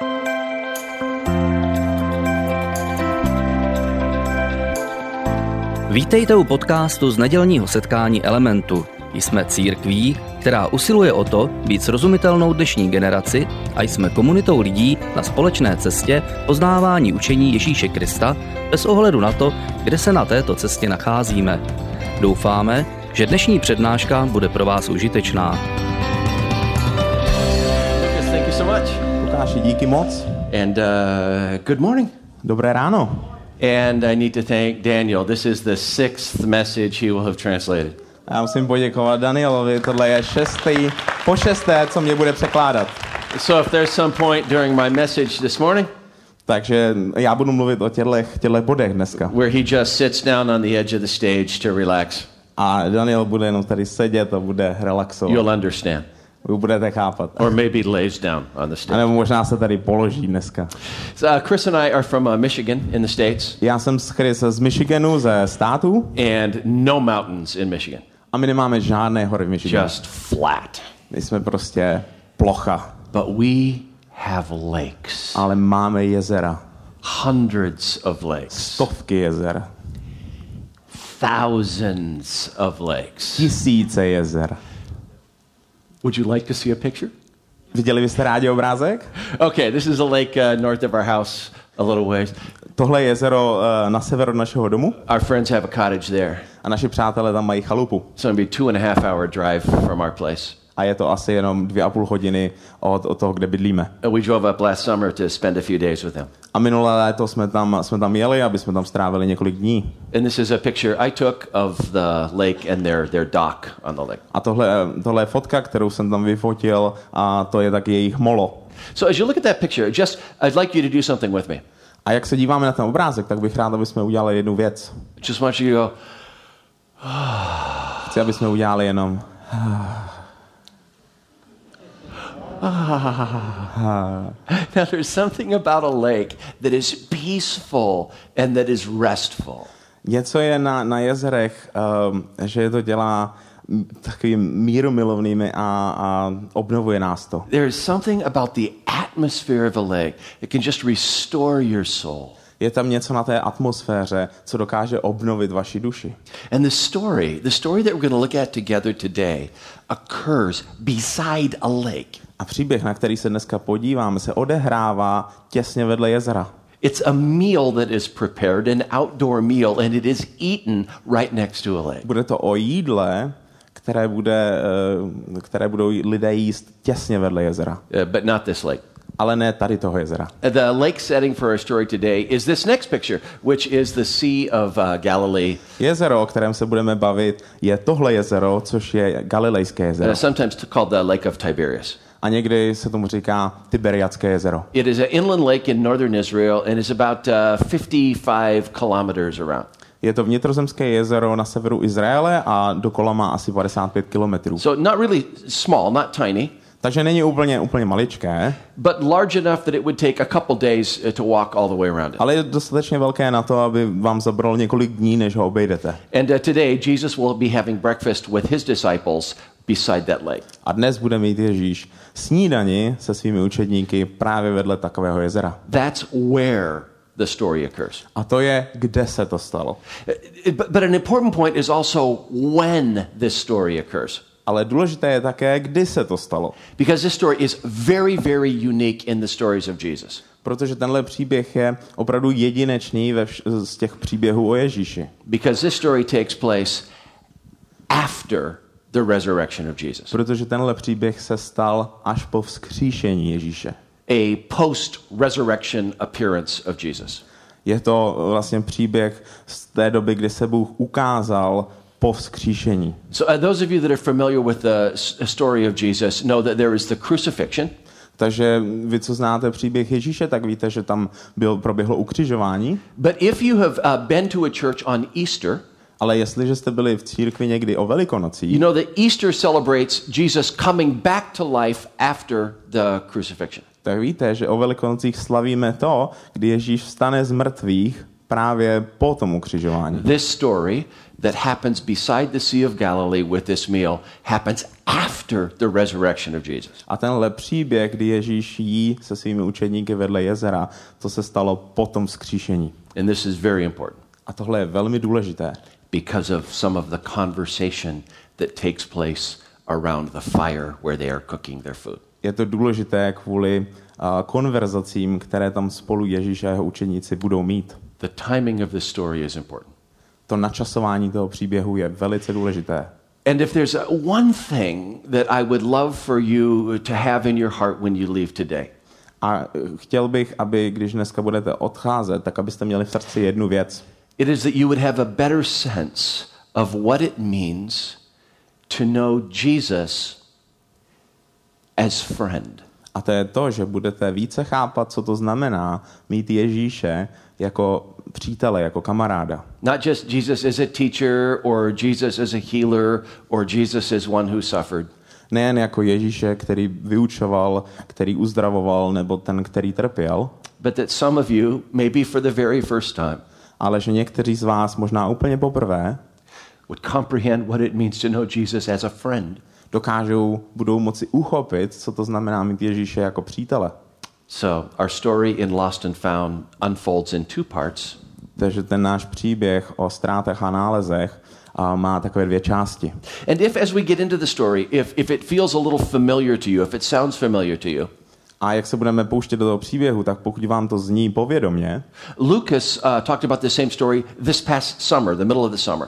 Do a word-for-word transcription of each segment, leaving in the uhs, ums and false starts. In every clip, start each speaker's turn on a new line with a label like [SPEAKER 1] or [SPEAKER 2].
[SPEAKER 1] Vítejte u podcastu z nedělního setkání Elementu. Jsme církví, která usiluje o to být srozumitelnou dnešní generaci a jsme komunitou lidí na společné cestě poznávání učení Ježíše Krista bez ohledu na to, kde se na této cestě nacházíme. Doufáme, že dnešní přednáška bude pro vás užitečná.
[SPEAKER 2] Yes, thank you so much.
[SPEAKER 3] Lukáši, díky moc.
[SPEAKER 2] And uh, good morning.
[SPEAKER 3] Dobré ráno.
[SPEAKER 2] And I need to thank Daniel. This is the sixth message he will have translated.
[SPEAKER 3] Já musím poděkovat Danielovi, tohle je šestý, po šesté, co mě bude překládat.
[SPEAKER 2] So if there's some point during my message this morning,
[SPEAKER 3] Takže já budu mluvit o těchto těchto bodech dneska.
[SPEAKER 2] where he just sits down on the edge of the stage to relax,
[SPEAKER 3] A Daniel bude jenom tady sedět a bude relaxovat.
[SPEAKER 2] you'll understand.
[SPEAKER 3] Vy budete chápat.
[SPEAKER 2] Or maybe lays down on the
[SPEAKER 3] A
[SPEAKER 2] stage.
[SPEAKER 3] nebo možná se tady položí dneska.
[SPEAKER 2] So, uh, Chris and I are from uh, Michigan in the States,
[SPEAKER 3] Já jsem z Chris z Michiganu, ze státu,
[SPEAKER 2] and no mountains in Michigan.
[SPEAKER 3] a my nemáme žádné hory v Michiganu.
[SPEAKER 2] Just flat.
[SPEAKER 3] My jsme prostě plocha,
[SPEAKER 2] But we have lakes.
[SPEAKER 3] ale máme jezera.
[SPEAKER 2] Hundreds of lakes.
[SPEAKER 3] Stovky jezer.
[SPEAKER 2] Thousands of lakes.
[SPEAKER 3] Tisíce jezer.
[SPEAKER 2] Would you like to see a picture?
[SPEAKER 3] Viděli byste rádi obrázek?
[SPEAKER 2] Okay, this is a lake uh, north of our house, a little ways.
[SPEAKER 3] Tohle je jezero uh, na sever od našeho domu
[SPEAKER 2] Our friends have a cottage there.
[SPEAKER 3] a naši přátelé tam mají chalupu.
[SPEAKER 2] It's going to be a two and a half hour drive from our place.
[SPEAKER 3] A je to asi jenom dvě a půl hodiny od, od toho, kde bydlíme.
[SPEAKER 2] And we drove up last summer to spend a few days with them.
[SPEAKER 3] A minulé léto jsme tam, jsme tam jeli, aby jsme tam strávili několik dní.
[SPEAKER 2] And this is a picture I took of the lake and their, their dock on the lake.
[SPEAKER 3] A tohle, tohle je fotka, kterou jsem tam vyfotil, a to je taky jejich molo.
[SPEAKER 2] So as you look at that picture, just I'd like you to do something with me.
[SPEAKER 3] A jak se díváme na ten obrázek, tak bych rád, aby jsme udělali jednu věc.
[SPEAKER 2] Just want you to go,
[SPEAKER 3] Chci, aby jsme udělali jenom...
[SPEAKER 2] now there's something about a lake that is peaceful and that is restful.
[SPEAKER 3] Něco je na, na jezerech, um, že to dělá takovými mírumilovnými a, a obnovuje nás to.
[SPEAKER 2] There is something about the atmosphere of a lake that can just restore your soul.
[SPEAKER 3] Je tam něco na té atmosféře, co dokáže obnovit vaši duši.
[SPEAKER 2] And the story, the story that we're going to look at together today occurs beside a lake.
[SPEAKER 3] A příběh, na který se dneska podíváme, se odehrává těsně vedle jezera.
[SPEAKER 2] It's a meal that is prepared, an outdoor meal, and it is eaten right next to a lake.
[SPEAKER 3] Bude to o jídle, které, bude, eh, které budou lidé jíst těsně vedle jezera.
[SPEAKER 2] Uh, but not this lake.
[SPEAKER 3] Ale ne tady toho jezera.
[SPEAKER 2] Uh, The lake setting for our story today is this next picture, which is the Sea of uh, Galilee.
[SPEAKER 3] Jezero, o kterém se budeme bavit, je tohle jezero, což je Galilejské
[SPEAKER 2] Uh,
[SPEAKER 3] jezero.
[SPEAKER 2] sometimes called the Lake of Tiberias.
[SPEAKER 3] A někdy se tomu říká Tiberiadské jezero.
[SPEAKER 2] It is an inland lake in northern Israel and is about uh, fifty-five kilometers around.
[SPEAKER 3] Je to vnitrozemské jezero na severu Izraele a dokola má asi padesát pět kilometrů.
[SPEAKER 2] So not really small, not tiny,
[SPEAKER 3] Takže není úplně, úplně maličké,
[SPEAKER 2] but large enough that it would take a couple days uh, to walk all the way around it.
[SPEAKER 3] ale je dostatečně velké na to, aby vám zabralo několik dní, než ho obejdete.
[SPEAKER 2] And uh, today Jesus will be having breakfast with his disciples beside that lake.
[SPEAKER 3] A dnes bude mít Ježíš snídani se svými učedníky právě vedle takového jezera.
[SPEAKER 2] That's where the story occurs.
[SPEAKER 3] A to je, kde se to stalo.
[SPEAKER 2] Uh, But, but an important point is also when this story occurs.
[SPEAKER 3] Ale důležité je také, kdy se to stalo.
[SPEAKER 2] Because this story is very, very unique in the stories of Jesus.
[SPEAKER 3] Protože tenhle příběh je opravdu jedinečný ve vš- z těch příběhů o Ježíši.
[SPEAKER 2] Because this story takes place after the resurrection of Jesus.
[SPEAKER 3] Protože tenhle příběh se stal až po vzkříšení Ježíše.
[SPEAKER 2] A post-resurrection appearance of Jesus.
[SPEAKER 3] Je to vlastně příběh z té doby, kdy se Bůh ukázal po vzkříšení.
[SPEAKER 2] So uh, those of you that are familiar with the s- story of Jesus know that there is the crucifixion.
[SPEAKER 3] Takže vy, co znáte příběh Ježíše, tak víte, že tam byl, proběhlo ukřižování.
[SPEAKER 2] But if you have uh, been to a church on Easter,
[SPEAKER 3] Ale jestliže jste byli v církvi někdy o Velikonocích,
[SPEAKER 2] you know that Easter celebrates Jesus coming back to life after the crucifixion.
[SPEAKER 3] tak víte, že o Velikonocích slavíme to, kdy Ježíš vstane z mrtvých právě po tom ukřižování.
[SPEAKER 2] This story that happens beside the Sea of Galilee with this meal happens after the resurrection of Jesus.
[SPEAKER 3] A tenhle příběh, kdy Ježíš jí se svými učedníky vedle jezera, to se stalo po tom vzkříšení.
[SPEAKER 2] And this is very important.
[SPEAKER 3] A tohle je velmi důležité.
[SPEAKER 2] Because of some of the conversation that takes place around the fire where they are cooking their food.
[SPEAKER 3] Je to důležité kvůli uh, konverzacím, které tam spolu Ježíš a jeho učeníci budou mít.
[SPEAKER 2] The timing of this story is important.
[SPEAKER 3] To načasování toho příběhu je velice důležité.
[SPEAKER 2] And if there's a, one thing that I would love for you to have in your heart when you leave today.
[SPEAKER 3] A chtěl bych, aby když dneska budete odcházet, tak abyste měli v srdci jednu věc.
[SPEAKER 2] It is that you would have a better sense of what it means to know Jesus as friend.
[SPEAKER 3] A to je to, že budete více chápat, co to znamená mít Ježíše jako přítele, jako kamaráda.
[SPEAKER 2] Not just Jesus as a teacher or Jesus as a healer or Jesus as one who suffered.
[SPEAKER 3] Nejen jako Ježíše, který vyučoval, který uzdravoval, nebo ten, který trpěl.
[SPEAKER 2] But that some of you, maybe for the very first time,
[SPEAKER 3] ale že někteří z vás možná úplně poprvé
[SPEAKER 2] would comprehend what it means to know Jesus as a friend.
[SPEAKER 3] Dokážou, budou moci uchopit, co to znamená mít Ježíše jako přítele.
[SPEAKER 2] So, our story in Lost and Found unfolds in two parts.
[SPEAKER 3] Takže ten náš příběh o ztrátách a nálezech a má takové dvě části.
[SPEAKER 2] And if as we get into the story, if if it feels a little familiar to you, if it sounds familiar to you,
[SPEAKER 3] a jak se budeme pouštět do toho příběhu, tak pokud vám to zní povědomě,
[SPEAKER 2] Lucas uh, talked about the same story this past summer, the middle of the summer.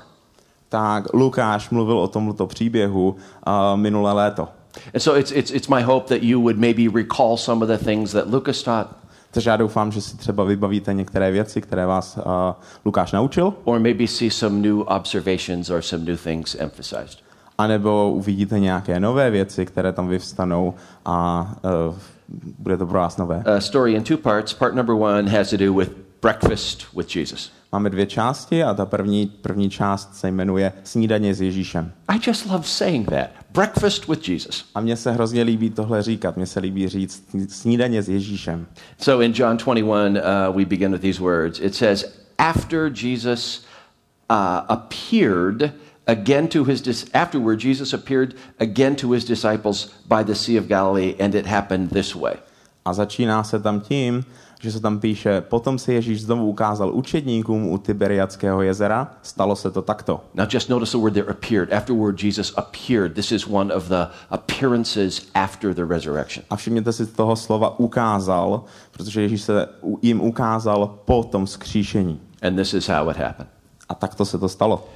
[SPEAKER 3] Tak Lukáš mluvil o tomto příběhu uh, minulé léto.
[SPEAKER 2] And so it's it's it's my hope that you would maybe recall some of the things that Lucas taught.
[SPEAKER 3] Takže já doufám, že si třeba vybavíte některé věci, které vás uh, Lukáš naučil.
[SPEAKER 2] Or maybe see some new observations or some new things emphasized.
[SPEAKER 3] A nebo uvidíte nějaké nové věci, které tam vyvstanou a uh, bude to pro vás nové.
[SPEAKER 2] A story in two parts. Part number one has to do with breakfast with Jesus.
[SPEAKER 3] Máme dvě části a ta první, první část se jmenuje Snídaně s Ježíšem.
[SPEAKER 2] I just love saying that. Breakfast with Jesus.
[SPEAKER 3] A mně se hrozně líbí tohle říkat. Mně se líbí říct Snídaně s Ježíšem.
[SPEAKER 2] So in John twenty-one, uh, we begin with these words. It says, after Jesus uh, appeared again to his dis- afterward Jesus appeared again to his disciples by the Sea of Galilee, and it happened this way.
[SPEAKER 3] A začíná se tam tím, že se tam píše, potom se Ježíš znovu ukázal učedníkům u Tiberiadského jezera, stalo se to takto.
[SPEAKER 2] Now just notice the word there, appeared. Afterward Jesus appeared. This is one of the appearances after the resurrection.
[SPEAKER 3] A všimněte si toho slova ukázal, protože Ježíš se jim ukázal po tom vzkříšení.
[SPEAKER 2] And this is how it happened.
[SPEAKER 3] A takto se to stalo.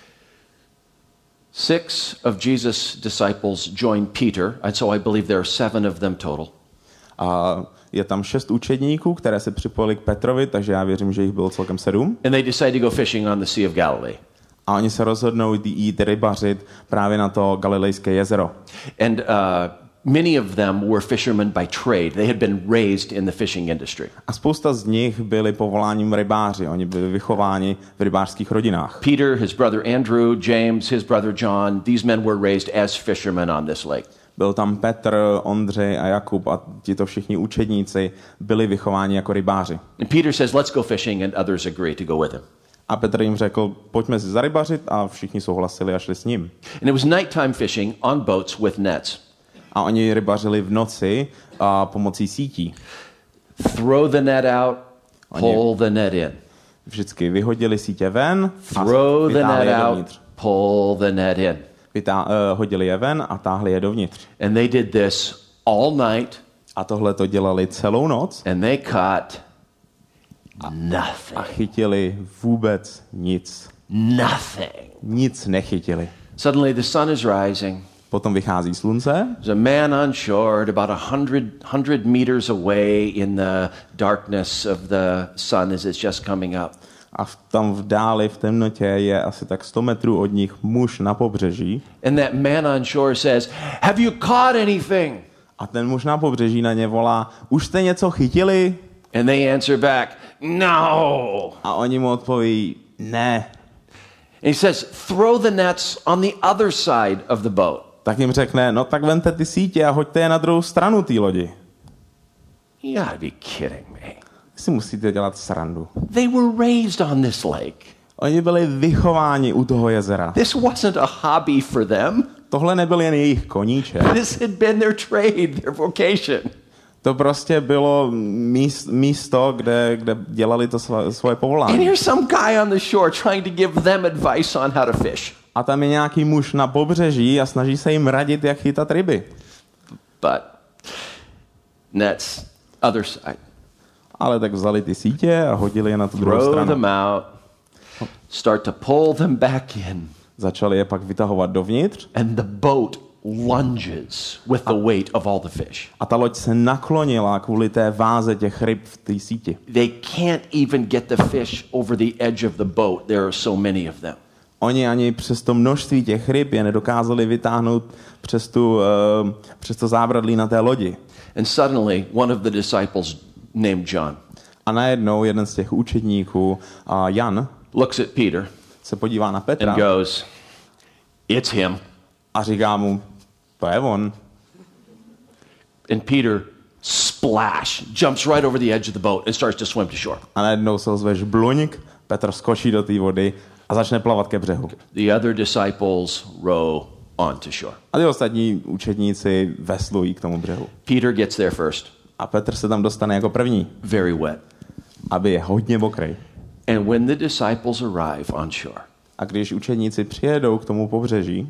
[SPEAKER 2] Six of Jesus' disciples joined Peter, and so I believe there are seven of them total.
[SPEAKER 3] A je tam šest učedníků, které se připojili k Petrovi, takže já věřím, že jich bylo celkem sedm.
[SPEAKER 2] And they decide to go fishing on the Sea of Galilee.
[SPEAKER 3] A oni se rozhodnou jít rybařit právě na to Galilejské jezero.
[SPEAKER 2] And uh, many of them were fishermen by trade. They had been raised in the fishing industry.
[SPEAKER 3] A spousta z nich byli povoláním rybáři. Oni byli vychováni v rybářských rodinách.
[SPEAKER 2] Peter, his brother Andrew, James, his brother John, these men were raised as fishermen on this lake.
[SPEAKER 3] Byl tam Petr, Ondřej a Jakub a tito všichni učedníci byli vychováni jako rybáři.
[SPEAKER 2] And Peter says, let's go fishing, and others agree to go with him.
[SPEAKER 3] A Petr jim řekl, pojďme si zarybařit a všichni souhlasili a šli s ním.
[SPEAKER 2] And it was nighttime fishing on boats with nets.
[SPEAKER 3] A oni rybařili v noci a pomocí sítí.
[SPEAKER 2] Throw the net out, pull the net in.
[SPEAKER 3] Vždycky vyhodili sítě ven a
[SPEAKER 2] Throw the
[SPEAKER 3] vytáhli
[SPEAKER 2] net
[SPEAKER 3] je
[SPEAKER 2] out,
[SPEAKER 3] dovnitř.
[SPEAKER 2] pull the net in.
[SPEAKER 3] Vytá, uh, hodili je ven a táhli je dovnitř.
[SPEAKER 2] And they did this all night.
[SPEAKER 3] A tohle to dělali celou noc.
[SPEAKER 2] And they caught nothing.
[SPEAKER 3] A chytili vůbec nic.
[SPEAKER 2] Nothing.
[SPEAKER 3] Nic nechytili.
[SPEAKER 2] Suddenly the sun is rising.
[SPEAKER 3] Potom vychází slunce.
[SPEAKER 2] There's a man on shore at about a hundred, hundred meters away in the darkness of the sun as it's just coming up.
[SPEAKER 3] A v, tam v dáli, v temnotě je asi tak sto metrů od nich muž na pobřeží.
[SPEAKER 2] And that man on shore says, have you caught anything?
[SPEAKER 3] A ten muž na pobřeží na ně volá, už jste něco chytili?
[SPEAKER 2] And they answer back, no.
[SPEAKER 3] A oni mu odpoví, ne.
[SPEAKER 2] And he says, throw the nets on the other side of the boat.
[SPEAKER 3] Tak jim řekne, no tak vemte ty sítě a hoďte je na druhou stranu té lodi.
[SPEAKER 2] You gotta be kidding me.
[SPEAKER 3] Si musíte dělat srandu.
[SPEAKER 2] They were raised on this lake.
[SPEAKER 3] Oni byli vychováni u toho jezera.
[SPEAKER 2] This wasn't a hobby for them.
[SPEAKER 3] tohle nebyl jen jejich koníček.
[SPEAKER 2] This had been their trade, their vocation.
[SPEAKER 3] To prostě bylo míst, místo, kde, kde dělali to své, svoje povolání.
[SPEAKER 2] And here's some guy on the shore trying to give them advice on how to fish.
[SPEAKER 3] A tam je nějaký muž na pobřeží a snaží se jim radit, jak chytat ryby.
[SPEAKER 2] But nets, other side.
[SPEAKER 3] Ale tak vzali ty sítě a hodili je na tu druhou
[SPEAKER 2] Throw
[SPEAKER 3] stranu.
[SPEAKER 2] them out. Start to pull them back in.
[SPEAKER 3] Začali je pak vytahovat dovnitř.
[SPEAKER 2] And the boat lunges with the weight of all the fish.
[SPEAKER 3] A ta loď se naklonila kvůli té váze těch ryb v té síti.
[SPEAKER 2] They can't even get the fish over the edge of the boat. There are so many of them.
[SPEAKER 3] Oni ani přes to množství těch ryb je nedokázali vytáhnout přes, tu, uh, přes to zábradlí na té lodi.
[SPEAKER 2] And suddenly one of the disciples named John
[SPEAKER 3] A najednou jeden z těch učedníků, uh, Jan,
[SPEAKER 2] looks at Peter
[SPEAKER 3] se podívá na Petra
[SPEAKER 2] and goes, "It's him."
[SPEAKER 3] a říká mu, to je on.
[SPEAKER 2] And Peter splash jumps right over the edge of the boat and starts to swim to shore.
[SPEAKER 3] A najednou se ozve žbluňk, Petr skočí do té vody a začne plavat ke břehu.
[SPEAKER 2] The other disciples row on to shore.
[SPEAKER 3] A ty ostatní učedníci veslují k tomu břehu.
[SPEAKER 2] Peter gets there first,
[SPEAKER 3] A Petr se tam dostane jako první,
[SPEAKER 2] very wet.
[SPEAKER 3] aby je hodně mokrý.
[SPEAKER 2] And when the disciples arrive on shore,
[SPEAKER 3] A když učedníci přijedou k tomu pobřeží,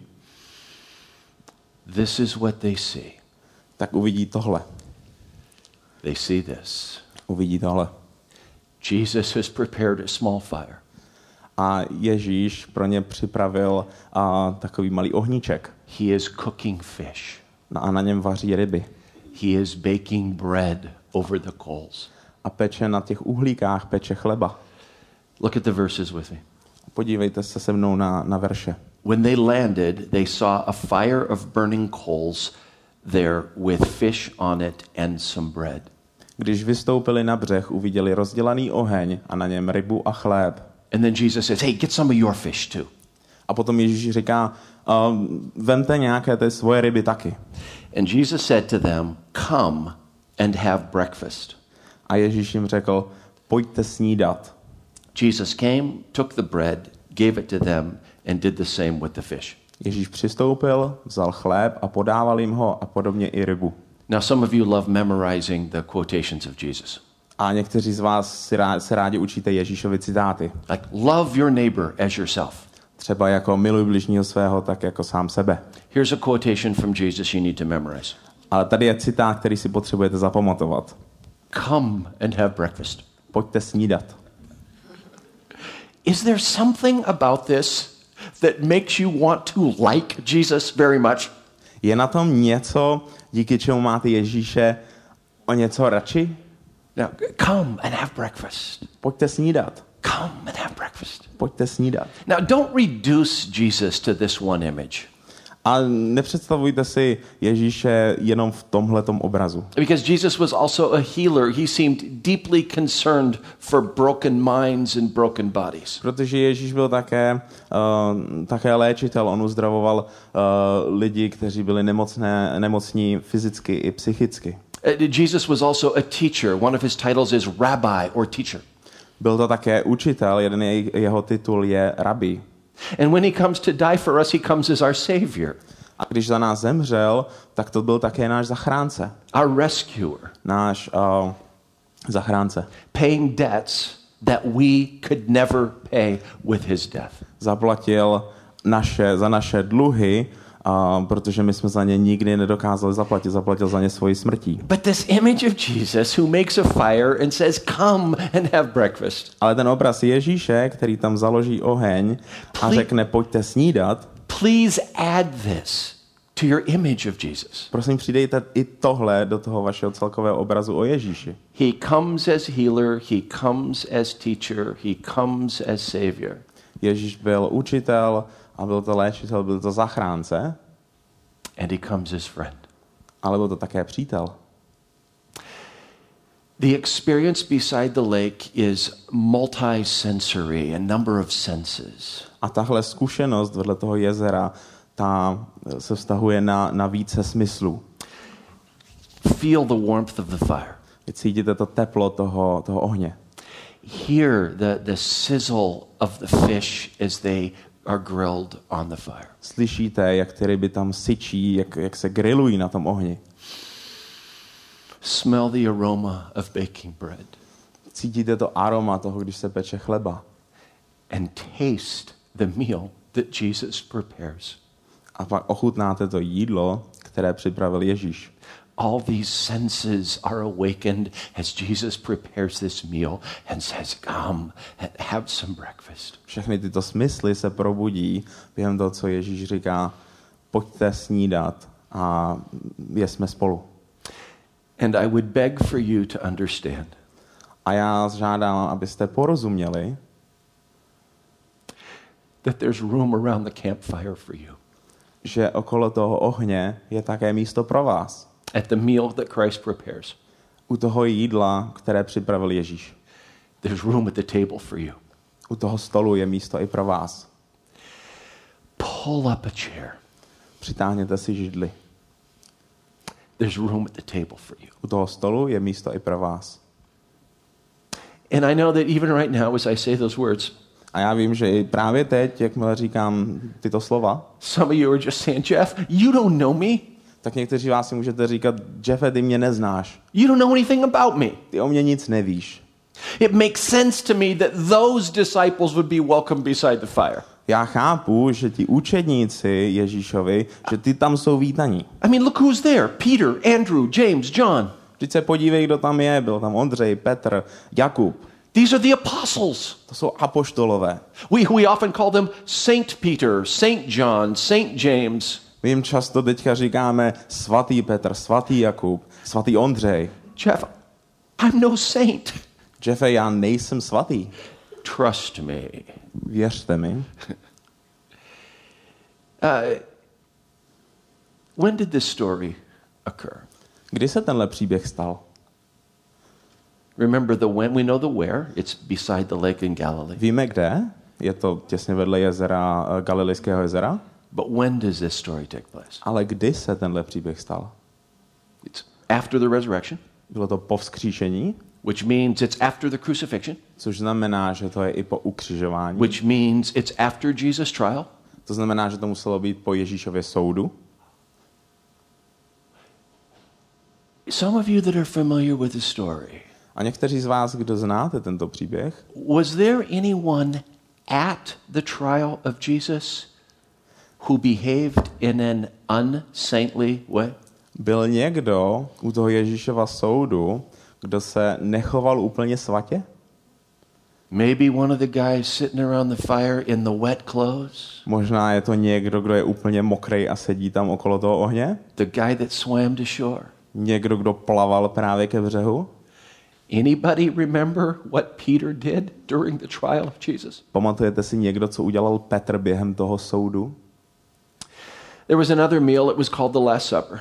[SPEAKER 2] this is what they see.
[SPEAKER 3] tak uvidí tohle.
[SPEAKER 2] They see this.
[SPEAKER 3] Uvidí tohle.
[SPEAKER 2] Jesus has prepared a small fire.
[SPEAKER 3] A Ježíš pro ně připravil a, takový malý ohníček.
[SPEAKER 2] He is cooking fish.
[SPEAKER 3] A na něm vaří ryby.
[SPEAKER 2] He is baking bread over the coals.
[SPEAKER 3] A peče na těch uhlíkách, peče chleba.
[SPEAKER 2] Look at the verses with me.
[SPEAKER 3] Podívejte se se mnou na, na verše.
[SPEAKER 2] When they landed, they saw a fire of burning coals there with fish on it and some bread.
[SPEAKER 3] Když vystoupili na břeh, uviděli rozdělaný oheň a na něm rybu a chléb.
[SPEAKER 2] And then Jesus says, "Hey, get some of your fish too."
[SPEAKER 3] A potom Ježíš říká, um, vemte nějaké ty svoje ryby taky.
[SPEAKER 2] And Jesus said to them, "Come and have breakfast."
[SPEAKER 3] A Ježíš jim řekl, pojďte snídat.
[SPEAKER 2] Jesus came, took the bread, gave it to them, and did the same with the fish.
[SPEAKER 3] Ježíš přistoupil, vzal chléb a podával jim ho a podobně i rybu.
[SPEAKER 2] Now, some of you love memorizing the quotations of Jesus.
[SPEAKER 3] A někteří z vás si rádi, se rádi učíte Ježíšovi citáty.
[SPEAKER 2] Like, love your neighbor as yourself.
[SPEAKER 3] Třeba jako miluj bližního svého, tak jako sám sebe.
[SPEAKER 2] Here's a quotation from Jesus you need to memorize.
[SPEAKER 3] Ale tady je citát, který si potřebujete zapamatovat.
[SPEAKER 2] Come and have breakfast.
[SPEAKER 3] Pojďte snídat.
[SPEAKER 2] Is there something about this that makes you want to like Jesus very much?
[SPEAKER 3] Je na tom něco, díky čemu máte Ježíše o něco radši?
[SPEAKER 2] Now, come and have breakfast.
[SPEAKER 3] Pojďte snídat.
[SPEAKER 2] Come and have breakfast.
[SPEAKER 3] Pojďte snídat.
[SPEAKER 2] Now, don't reduce Jesus to this one image.
[SPEAKER 3] A nepředstavujte si Ježíše jenom v tomhletom obrazu.
[SPEAKER 2] Because Jesus was also a healer. He seemed deeply concerned for broken minds and broken bodies.
[SPEAKER 3] Protože Ježíš byl také, uh, také léčitel. On uzdravoval uh, lidi, kteří byli nemocné, nemocní fyzicky i psychicky.
[SPEAKER 2] Uh, Jesus was also a teacher. One of his titles is rabbi or teacher.
[SPEAKER 3] Byl to také učitel, jeden je, jeho titul je rabí.
[SPEAKER 2] And when he comes to die for us, he comes as our savior.
[SPEAKER 3] A když za nás zemřel, tak to byl také náš zachránce.
[SPEAKER 2] Our rescuer.
[SPEAKER 3] Náš uh, zachránce.
[SPEAKER 2] Paying debts that we could never pay with his death.
[SPEAKER 3] Zaplatil naše, za naše dluhy, uh, protože my jsme za ně nikdy nedokázali zaplatit. Zaplatil za ně svoji smrtí.
[SPEAKER 2] But this image of Jesus who makes a fire and says, "Come and have breakfast."
[SPEAKER 3] Ale ten obraz Ježíše, který tam založí oheň a řekne, pojďte snídat,
[SPEAKER 2] please add this to your image of Jesus.
[SPEAKER 3] Prosím, přidejte i tohle do toho vašeho celkového obrazu o Ježíši.
[SPEAKER 2] He comes as healer, he comes as teacher, he comes as savior.
[SPEAKER 3] Ježíš byl učitel a byl to léčitel, byl to zachránce.
[SPEAKER 2] And he comes as friend.
[SPEAKER 3] Ale byl to také přítel.
[SPEAKER 2] The experience beside the lake is multi-sensory, a number of senses.
[SPEAKER 3] A tahle zkušenost vedle toho jezera, ta se vztahuje na, na více smyslů.
[SPEAKER 2] Feel the warmth of the fire.
[SPEAKER 3] Cítíte to teplo toho, toho ohně.
[SPEAKER 2] Hear the, the sizzle of the fish as they are grilled on the fire.
[SPEAKER 3] Slyšíte, jak ty ryby tam syčí, jak, jak se grilují na tom ohni.
[SPEAKER 2] Smell the aroma of baking bread.
[SPEAKER 3] Cítíte to aroma toho, když se peče chleba.
[SPEAKER 2] And taste the meal that Jesus prepares.
[SPEAKER 3] A pak ochutnáte to jídlo, které připravil Ježíš.
[SPEAKER 2] All these senses are awakened as Jesus prepares this meal and says, come, have some breakfast.
[SPEAKER 3] Všechny tyto smysly se probudí během toho, co Ježíš říká, pojďte snídat a jesme spolu.
[SPEAKER 2] And I would beg for you to understand.
[SPEAKER 3] A já žádám, abyste porozuměli,
[SPEAKER 2] that there's room around the campfire for you.
[SPEAKER 3] Že okolo toho ohně je také místo pro vás.
[SPEAKER 2] At the meal that Christ prepares.
[SPEAKER 3] U toho jídla, které připravil Ježíš.
[SPEAKER 2] There's room at the table for you.
[SPEAKER 3] U toho stolu je místo i pro vás.
[SPEAKER 2] Pull up a chair.
[SPEAKER 3] Přitáhněte si židli.
[SPEAKER 2] There's room at the table for you.
[SPEAKER 3] U toho stolu je místo i pro vás.
[SPEAKER 2] And I know that even right now as I say those words,
[SPEAKER 3] a já vím, že i právě teď, jakmile říkám tyto slova,
[SPEAKER 2] some of you are just saying, Jeff, you don't know me.
[SPEAKER 3] Tak někteří vás si můžete říkat, Jeffe, ty mě neznáš.
[SPEAKER 2] You don't know anything about me.
[SPEAKER 3] Ty o mě nic nevíš.
[SPEAKER 2] It makes sense to me that those disciples would be welcome beside the fire.
[SPEAKER 3] Já chápu, že ti učedníci Ježíšovi, že ty tam jsou vítaní.
[SPEAKER 2] I mean, look who's there. Peter, Andrew, James, John.
[SPEAKER 3] Vždyť se podívej, kdo tam je. Byl tam Ondřej, Petr, Jakub.
[SPEAKER 2] These are the apostles.
[SPEAKER 3] To jsou apoštolové.
[SPEAKER 2] We, we often call them Saint Peter, Saint John, Saint James.
[SPEAKER 3] My jim často teďka říkáme svatý Petr, svatý Jakub, svatý Ondřej.
[SPEAKER 2] Jeff, I'm no saint.
[SPEAKER 3] Jeffe, já nejsem svatý.
[SPEAKER 2] Trust me.
[SPEAKER 3] Věřte mi.
[SPEAKER 2] uh, when did this story occur?
[SPEAKER 3] Kdy se tenhle příběh stal?
[SPEAKER 2] Remember the when, we know the where. It's beside the lake in Galilee.
[SPEAKER 3] Víme kde? Je to těsně vedle jezera, Galilejského jezera.
[SPEAKER 2] But when does this story take place?
[SPEAKER 3] Ale kdy se tenhle příběh stal?
[SPEAKER 2] It's after the resurrection.
[SPEAKER 3] Bylo to po vzkříšení.
[SPEAKER 2] Which means it's after the crucifixion.
[SPEAKER 3] Což znamená, že to je i po ukřižování.
[SPEAKER 2] Which means it's after Jesus' trial.
[SPEAKER 3] To znamená, že to muselo být po Ježíšově soudu.
[SPEAKER 2] Some of you that are familiar with the story.
[SPEAKER 3] A někteří z vás, kdo znáte tento příběh,
[SPEAKER 2] was there anyone at the trial of Jesus who behaved in an unsaintly way?
[SPEAKER 3] Byl někdo u toho Ježíšova soudu, kdo se nechoval úplně svatě?
[SPEAKER 2] Maybe one of the guys sitting around the fire in the wet clothes?
[SPEAKER 3] Možná je to někdo, kdo je úplně mokrej a sedí tam okolo toho ohně?
[SPEAKER 2] The guy that swam to shore?
[SPEAKER 3] Někdo, kdo plaval právě ke břehu?
[SPEAKER 2] Anybody remember what Peter did during the trial of Jesus?
[SPEAKER 3] Pamatujete si někdo, co udělal Petr během toho soudu?
[SPEAKER 2] There was another meal, it was called the Last Supper.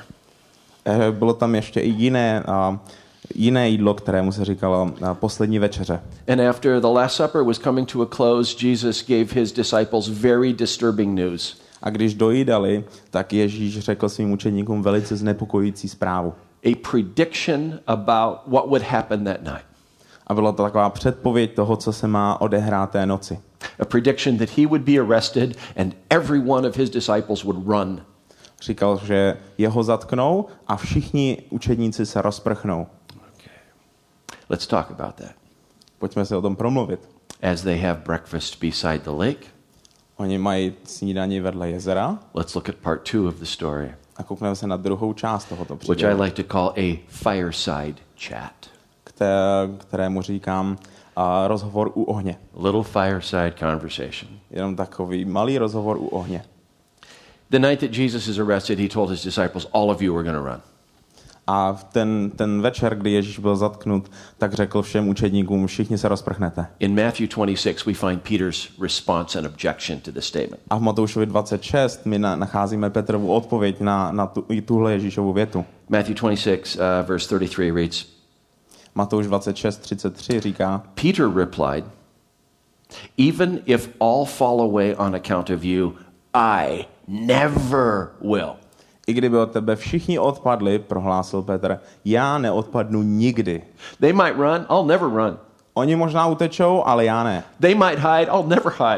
[SPEAKER 3] Bylo tam ještě i jiné, uh, jiné jídlo, kterému se říkalo uh, poslední večeře.
[SPEAKER 2] And after the Last Supper was coming to a close, Jesus gave his disciples very disturbing news.
[SPEAKER 3] A když dojídali, tak Ježíš řekl svým učeníkům velice znepokojující zprávu.
[SPEAKER 2] A prediction about what would happen that night.
[SPEAKER 3] A byla to taková předpověď toho, co se má odehrát té noci.
[SPEAKER 2] A prediction that he would be arrested and every one of his disciples would run.
[SPEAKER 3] Říkal, že jeho zatknou a všichni učedníci se rozprchnou.
[SPEAKER 2] Okay. Let's talk about that.
[SPEAKER 3] Pojďme se o tom promluvit.
[SPEAKER 2] As they have breakfast beside the lake.
[SPEAKER 3] Oni mají snídani vedle jezera.
[SPEAKER 2] Let's look at part two of the story.
[SPEAKER 3] A koukneme se na druhou část tohoto
[SPEAKER 2] příběhu. Which I like to call a fireside chat.
[SPEAKER 3] Které, kterému říkám uh, rozhovor u ohně.
[SPEAKER 2] Little fireside conversation.
[SPEAKER 3] Jenom takový malý rozhovor u ohně.
[SPEAKER 2] The night that Jesus is arrested, he told his disciples, all of you are going to run.
[SPEAKER 3] A v ten, ten večer, kdy Ježíš byl zatknut, tak řekl všem učedníkům, všichni se rozprchnete.
[SPEAKER 2] In Matthew twenty-six, we find Peter's response and objection to the statement.
[SPEAKER 3] A v Matoušovi dvacet šest my na, nacházíme Petrovu odpověď na, na tu, tuhle Ježíšovu větu.
[SPEAKER 2] Matthew twenty-six, uh, verse thirty-three reads,
[SPEAKER 3] Matouš dvacet šest třicet tři říká,
[SPEAKER 2] Peter replied, even if all fall away on account of you, I never will.
[SPEAKER 3] I kdyby od tebe všichni odpadli, prohlásil Petr, já neodpadnu nikdy.
[SPEAKER 2] They might run, I'll never run.
[SPEAKER 3] Oni možná utečou, ale já ne.
[SPEAKER 2] They might hide, I'll never hide.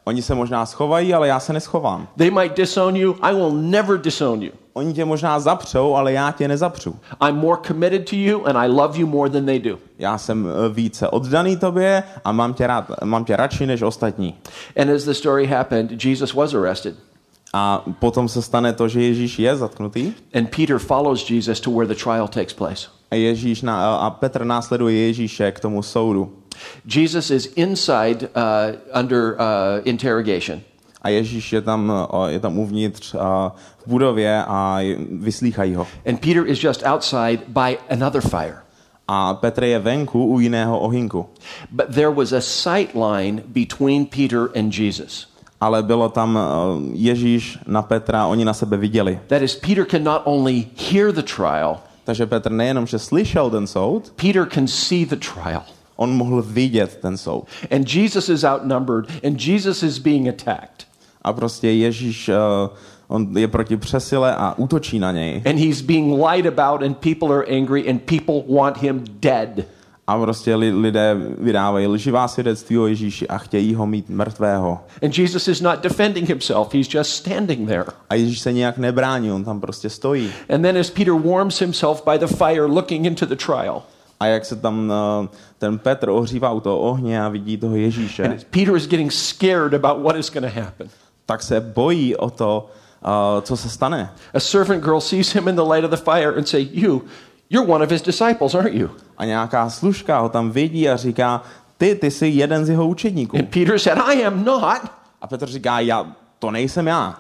[SPEAKER 3] Oni se možná schovají, ale já se neschovám.
[SPEAKER 2] They might disown you. I will never disown you.
[SPEAKER 3] Oni tě možná zapřou, ale já tě nezapřu.
[SPEAKER 2] I'm more committed to you and I love you more than they do.
[SPEAKER 3] Já jsem více oddaný tobě a mám tě rád, mám tě radši než ostatní.
[SPEAKER 2] And as the story happened, Jesus was arrested.
[SPEAKER 3] A potom se stane to, že Ježíš je zatknutý.
[SPEAKER 2] And Peter follows Jesus to where the trial takes place.
[SPEAKER 3] A Ježíš na, a Petr následuje Ježíše k tomu soudu.
[SPEAKER 2] Jesus is inside uh, under uh, interrogation.
[SPEAKER 3] A Ježíš je tam, je tam uvnitř uh, v budově a vyslýchají ho.
[SPEAKER 2] And Peter is just outside by another fire.
[SPEAKER 3] A Petr je venku u jiného ohýnku.
[SPEAKER 2] But there was a sight line between Peter and Jesus.
[SPEAKER 3] Ale bylo tam uh, Ježíš na Petra, oni na sebe viděli.
[SPEAKER 2] That is, Peter can not only hear the trial,
[SPEAKER 3] takže Petr nejenom, že slyšel ten soud,
[SPEAKER 2] Peter can see the trial.
[SPEAKER 3] On mohl vidět ten soud.
[SPEAKER 2] And Jesus is outnumbered and Jesus is being attacked.
[SPEAKER 3] A prostě Ježíš uh, on je proti přesile a útočí na něj.
[SPEAKER 2] And he's being lied about and people are angry and people want him dead.
[SPEAKER 3] A prostě lidé vydávají lživá svědectví o Ježíši a chtějí ho mít mrtvého.
[SPEAKER 2] And Jesus is not defending himself, he's just standing there.
[SPEAKER 3] A Ježíš se nijak nebrání, on tam prostě stojí.
[SPEAKER 2] And then as Peter warms himself by the fire looking into the trial.
[SPEAKER 3] A jak se tam uh, ten Petr ohřívá u toho ohně a vidí toho Ježíše.
[SPEAKER 2] And Peter is getting scared about what is going to happen.
[SPEAKER 3] Tak se bojí o to, uh, co se stane.
[SPEAKER 2] A servant girl sees him in the light of the fire and say, "You, you're one of his disciples, aren't you?"
[SPEAKER 3] A nějaká služka ho tam vidí a říká, ty, ty jsi jeden z jeho učedníků.
[SPEAKER 2] And Peter said, "I am not."
[SPEAKER 3] A Petr říká, já, to nejsem já.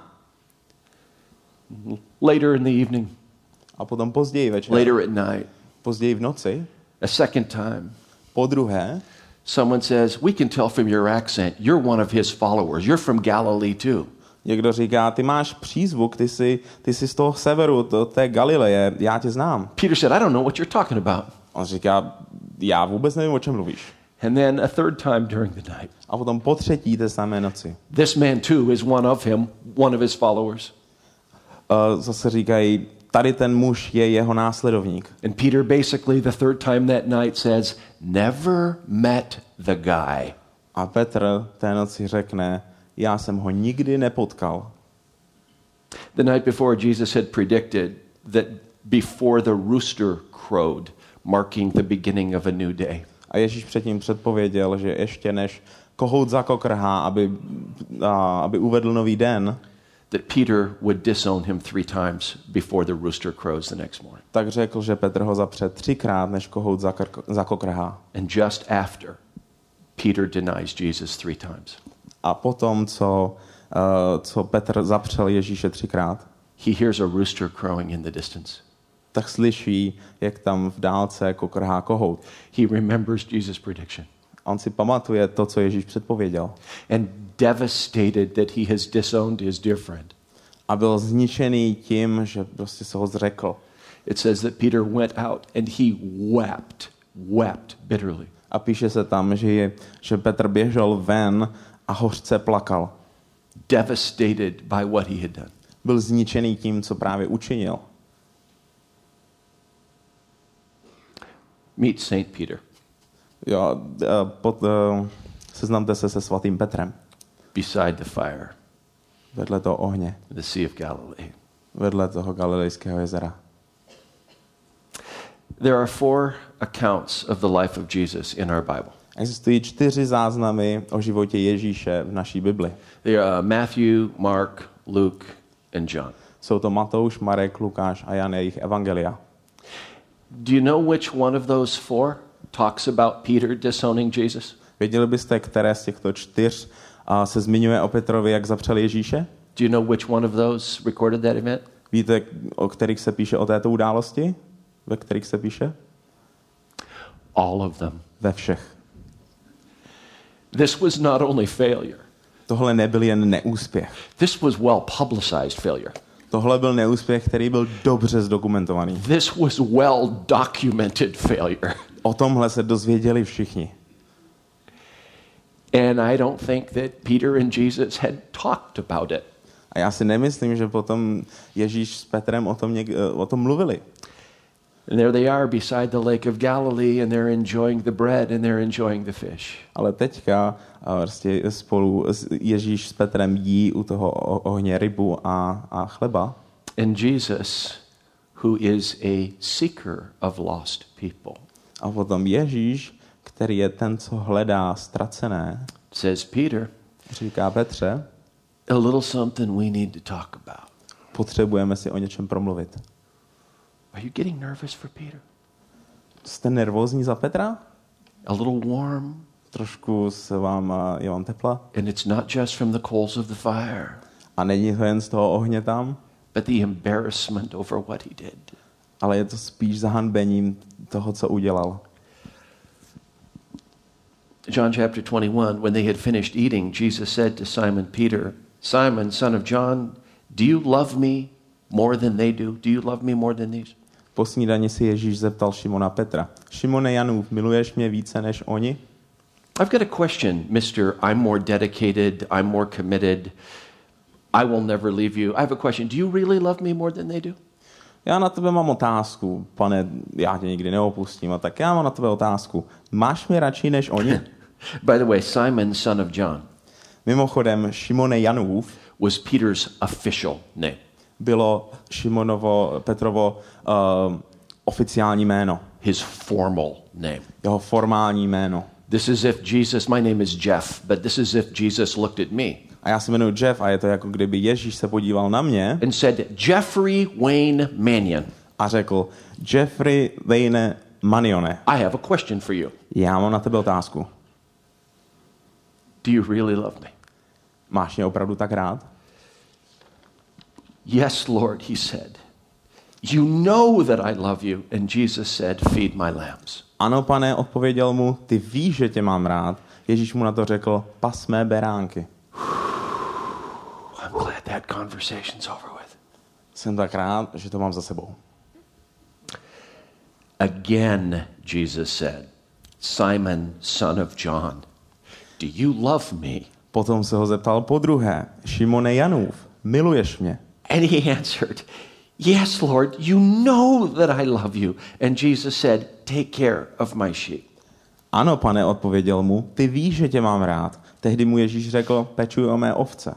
[SPEAKER 2] Later in the evening.
[SPEAKER 3] A potom později večer.
[SPEAKER 2] Later at night.
[SPEAKER 3] Později v noci.
[SPEAKER 2] A second time.
[SPEAKER 3] Po druhé.
[SPEAKER 2] Someone says, "We can tell from your accent, you're one of his followers. You're from Galilee too."
[SPEAKER 3] Někdo říká, ty máš přízvuk, ty jsi, ty jsi z toho severu, to té Galileje, já tě znám.
[SPEAKER 2] Peter said, "I don't know what you're talking about."
[SPEAKER 3] On říká, já vůbec nevím, o čem mluvíš.
[SPEAKER 2] And then a third time during the night.
[SPEAKER 3] A potom po třetí té samé noci.
[SPEAKER 2] This man too is one of him, one of his followers.
[SPEAKER 3] Uh, zase říkají, tady ten muž je jeho následovník.
[SPEAKER 2] And Peter basically the third time that night says, "Never met the guy."
[SPEAKER 3] A Petr té noci řekne, já jsem ho nikdy nepotkal.
[SPEAKER 2] The night before, Jesus had predicted that before the rooster crowed, marking the beginning of a new day.
[SPEAKER 3] A Ježíš předtím předpověděl, že ještě než kohout zakokrhá, aby, a, aby uvedl nový den,
[SPEAKER 2] that Peter would disown him three times before the rooster crows the next morning.
[SPEAKER 3] Tak řekl, že Petr ho zapře třikrát, než kohout zakokrhá.
[SPEAKER 2] And just after, Peter denies Jesus three times.
[SPEAKER 3] A potom, co, uh, co Petr zapřel Ježíše třikrát,
[SPEAKER 2] he hears a rooster crowing in the distance.
[SPEAKER 3] Tak slyší, jak tam v dálce kokrhá kohout.
[SPEAKER 2] He remembers Jesus' prediction.
[SPEAKER 3] On si pamatuje to, co Ježíš předpověděl.
[SPEAKER 2] And devastated that he has disowned his dear friend.
[SPEAKER 3] A byl zničený tím, že prostě se ho zřekl.
[SPEAKER 2] It says that Peter went out and he wept, wept bitterly.
[SPEAKER 3] A píše se tam, že, je, že Petr běžel ven a hořce plakal.
[SPEAKER 2] Devastated by what he had done.
[SPEAKER 3] Byl zničený tím, co právě učinil.
[SPEAKER 2] Meet Saint Peter.
[SPEAKER 3] Jo, pod, uh, seznamte se se svatým Petrem.
[SPEAKER 2] Beside the fire.
[SPEAKER 3] Vedle toho ohně.
[SPEAKER 2] The Sea of Galilee.
[SPEAKER 3] Vedle toho Galilejského jezera.
[SPEAKER 2] There are four accounts of the life of Jesus in our Bible.
[SPEAKER 3] Existují čtyři záznamy o životě Ježíše v naší Bibli.
[SPEAKER 2] They are Matthew, Mark, Luke and John.
[SPEAKER 3] Jsou to Matouš, Marek, Lukáš a Jan, jejich evangelia.
[SPEAKER 2] Do you know which one of those four talks about Peter disowning Jesus?
[SPEAKER 3] Věděli byste, které z těchto čtyř uh, se zmiňuje o Petrovi, jak zapřel Ježíše?
[SPEAKER 2] Do you know which one of those recorded that event?
[SPEAKER 3] Víte, o kterých se píše o této události? Ve kterých se píše?
[SPEAKER 2] All of them.
[SPEAKER 3] Ve všech.
[SPEAKER 2] This was not only failure.
[SPEAKER 3] Tohle nebyl jen neúspěch.
[SPEAKER 2] This was well publicized failure.
[SPEAKER 3] Tohle byl neúspěch, který byl dobře zdokumentovaný.
[SPEAKER 2] This was well documented failure.
[SPEAKER 3] O tomhle se dozvěděli všichni.
[SPEAKER 2] And I don't think that Peter and Jesus had talked about it.
[SPEAKER 3] A já si nemyslím, že potom Ježíš s Petrem o tom, něk- o tom mluvili.
[SPEAKER 2] And there they are beside the lake of Galilee and they're enjoying the bread and they're enjoying the fish.
[SPEAKER 3] Ale teďka vlastně spolu Ježíš s Petrem jí u toho ohně rybu a, a chleba.
[SPEAKER 2] And Jesus, who is a seeker of lost people.
[SPEAKER 3] A potom Ježíš, který je ten, co hledá ztracené,
[SPEAKER 2] says, Peter,
[SPEAKER 3] říká Petře,
[SPEAKER 2] a little something we need to talk about.
[SPEAKER 3] Potřebujeme si o něčem promluvit.
[SPEAKER 2] Are you getting nervous for Peter?
[SPEAKER 3] Jste nervózní za Petra?
[SPEAKER 2] A little warm?
[SPEAKER 3] Trošku se vám, je vám tepla?
[SPEAKER 2] And it's not just from the coals of the fire.
[SPEAKER 3] A není to jen z toho ohně tam?
[SPEAKER 2] But the embarrassment over what he did.
[SPEAKER 3] Ale je to spíš zahanbením toho, co udělal.
[SPEAKER 2] John chapter twenty-one, when they had finished eating, Jesus said to Simon Peter, Simon, son of John, do you love me more than they do? Do you love me more than these?
[SPEAKER 3] Po snídani si Ježíš zeptal Šimona Petra. Šimone Janův, miluješ mě více než oni?
[SPEAKER 2] I've got a question, mister I'm more dedicated, I'm more committed, I will never leave you. I have a question. Do you really love me more than they do?
[SPEAKER 3] Já na tebe mám otázku, pane, já tě nikdy neopustím, a tak já mám na tebe otázku. Máš mě radši než oni?
[SPEAKER 2] By the way, Simon, son of John,
[SPEAKER 3] mimochodem, Šimone Janův
[SPEAKER 2] was Peter's official name.
[SPEAKER 3] Bylo Šimonovo, Petrovo uh, oficiální jméno.
[SPEAKER 2] His formal name.
[SPEAKER 3] Jeho formální jméno.
[SPEAKER 2] This is if Jesus, my name is Jeff, but this is if Jesus looked at me.
[SPEAKER 3] A já se jmenuji Jeff a je to jako kdyby Ježíš se podíval na mě
[SPEAKER 2] and said, Jeffrey Wayne Mannion.
[SPEAKER 3] A řekl, Jeffrey Wayne Manione.
[SPEAKER 2] I have a question for you.
[SPEAKER 3] Já mám na tebe otázku.
[SPEAKER 2] Do you really love me?
[SPEAKER 3] Máš mě opravdu tak rád?
[SPEAKER 2] Yes, Lord, he said. You know that I love you. And Jesus said, feed my lambs.
[SPEAKER 3] Ano, pane, odpověděl mu, ty víš, že tě mám rád. Ježíš mu na to řekl, pas mé beránky.
[SPEAKER 2] I'm glad that conversation's over with.
[SPEAKER 3] Jsem tak rád, že to mám za sebou.
[SPEAKER 2] Again, Jesus said, Simon, son of John, do you love me?
[SPEAKER 3] Potom se ho zeptal podruhé, Šimone Janův, miluješ mě?
[SPEAKER 2] And he answered, yes, Lord, you know that I love you. And Jesus said, take care of my sheep.
[SPEAKER 3] Ano, pane, odpověděl mu, ty víš, že tě mám rád. Tehdy mu Ježíš řekl, pečuj o mé ovce.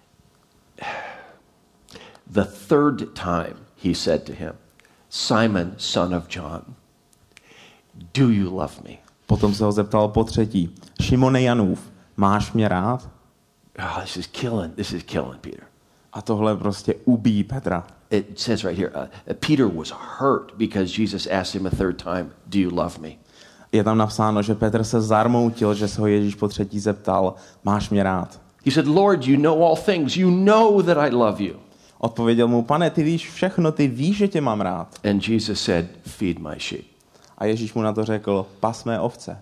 [SPEAKER 2] The third time he said to him, Simon, son of John, do you love me?
[SPEAKER 3] Potom se ho zeptal po třetí, Šimone Janův, máš mě rád?
[SPEAKER 2] Oh, this is killing, this is killing Peter.
[SPEAKER 3] A tohle prostě ubíjí Petra.
[SPEAKER 2] It says right here, uh, Peter was hurt because Jesus asked him a third time, do you love me?
[SPEAKER 3] Je tam napsáno, že Petr se zarmoutil, že se ho Ježíš po třetí zeptal, máš mě rád?
[SPEAKER 2] He said, Lord, you know all things. You know that I love you.
[SPEAKER 3] Odpověděl mu, pane, ty víš všechno, ty víš, že tě mám rád.
[SPEAKER 2] And Jesus said, feed my sheep.
[SPEAKER 3] A Ježíš mu na to řekl, pas mé ovce.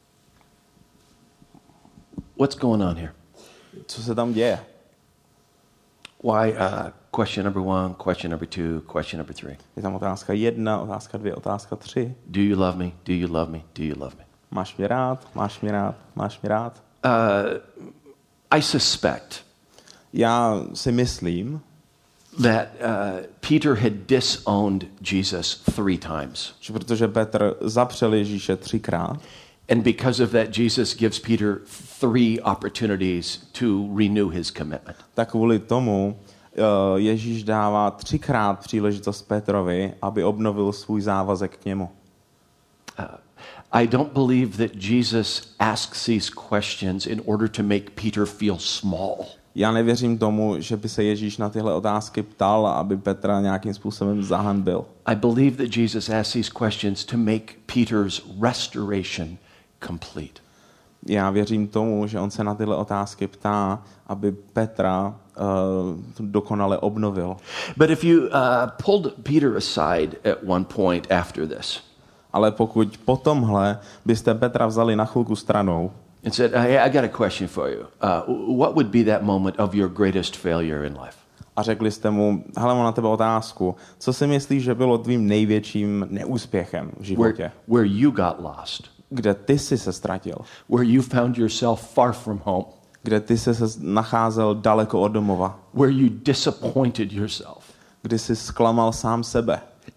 [SPEAKER 2] What's going on here?
[SPEAKER 3] Co se tam děje?
[SPEAKER 2] Why, uh, question number one, question number two, question number three.
[SPEAKER 3] Je tam otázka jedna, otázka dvě, otázka tři.
[SPEAKER 2] Do you love me? Do you love me? Do you love me?
[SPEAKER 3] Máš mě rád? Máš mě rád? Máš mě rád?
[SPEAKER 2] Uh, I suspect
[SPEAKER 3] Já si myslím,
[SPEAKER 2] that uh, Peter had disowned Jesus three times.
[SPEAKER 3] že protože Petr zapřel Ježíše třikrát,
[SPEAKER 2] and because of that, Jesus gives Peter three opportunities to renew his commitment.
[SPEAKER 3] tak kvůli tomu uh, Ježíš dává třikrát příležitost Petrovi, aby obnovil svůj závazek k němu.
[SPEAKER 2] Uh, I don't believe that Jesus asks these questions in order to make Peter feel small.
[SPEAKER 3] Já nevěřím tomu, že by se Ježíš na tyhle otázky ptal, aby Petra nějakým způsobem zahanbil.
[SPEAKER 2] I believe that Jesus asks these questions to make Peter's restoration complete.
[SPEAKER 3] Já věřím tomu, že on se na tyhle otázky ptá, aby Petra uh, dokonale obnovil.
[SPEAKER 2] But if you uh, pulled Peter aside at one point after this,
[SPEAKER 3] Ale pokud po tomhle byste Petra vzali na chvilku stranou
[SPEAKER 2] and said, hey, I got a question for you. Uh, what would be that moment of your greatest failure in life?
[SPEAKER 3] a řekli jste mu, hele, mám na tebe otázku, co si myslíš, že bylo tvým největším neúspěchem v životě?
[SPEAKER 2] Where, where you got lost.
[SPEAKER 3] Kde ty jsi se ztratil?
[SPEAKER 2] Where you found yourself far from home.
[SPEAKER 3] Kde ty jsi se nacházel daleko od domova?
[SPEAKER 2] Where you disappointed yourself.
[SPEAKER 3] Kdy jsi zklamal sám sebe?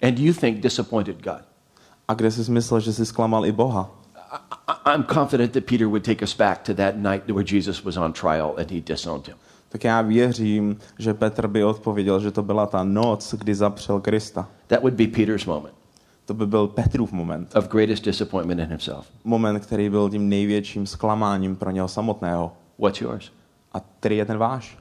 [SPEAKER 2] and you think disappointed God.
[SPEAKER 3] A kde jsi myslel, že jsi zklamal i Boha?
[SPEAKER 2] I, I'm confident that Peter would take us back to that night where Jesus was on trial and he disowned him.
[SPEAKER 3] Tak já věřím, že Petr by odpověděl, že to byla ta noc, kdy zapřel Krista.
[SPEAKER 2] That would be Peter's moment.
[SPEAKER 3] To by byl Petrův moment.
[SPEAKER 2] Of greatest disappointment in himself.
[SPEAKER 3] Moment, který byl tím největším zklamáním pro něho samotného.
[SPEAKER 2] What's yours?
[SPEAKER 3] A který je ten váš?